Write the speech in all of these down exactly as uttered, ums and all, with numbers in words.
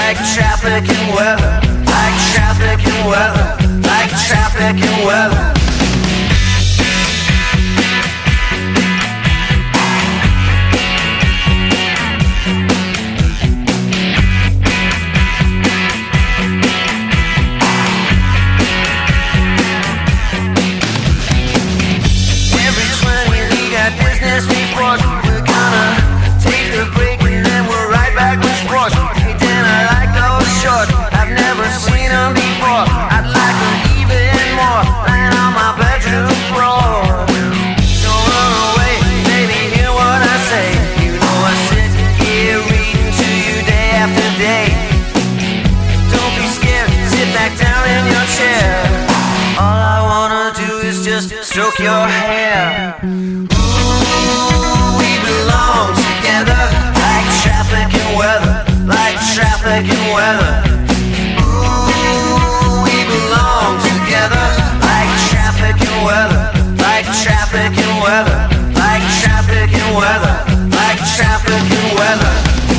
like traffic and weather, like traffic and weather, like traffic and weather. Every twenty we got business reports. We're gonna take a break and then we're right back with sports. Hey, Dan, I like those shorts. I've never seen them before. I'd like them even more. Laying on my bedroom floor. Don't run away, baby, hear what I say. You know I sit here reading to you day after day. Don't be scared, sit back down in your chair. All I wanna do is just stroke your hair. Ooh, we belong together, like traffic and weather, like traffic and weather. Ooh, we belong together, like traffic and weather, like traffic and weather, like traffic and weather, like traffic and weather.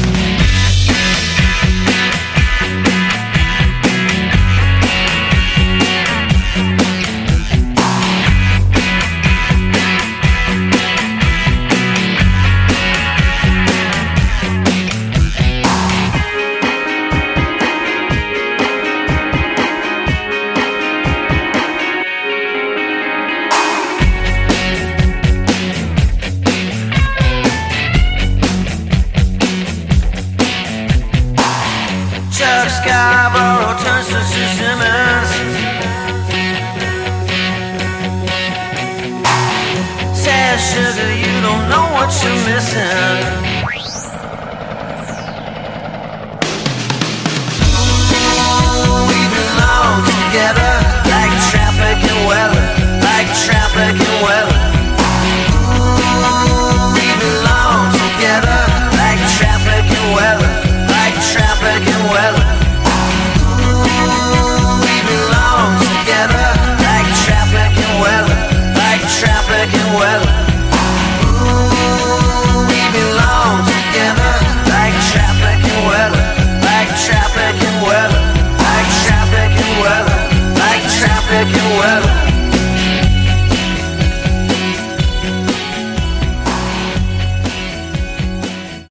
Chuck Scarborough turns to Sue Simmons. Says, sugar, you don't know what you're missing.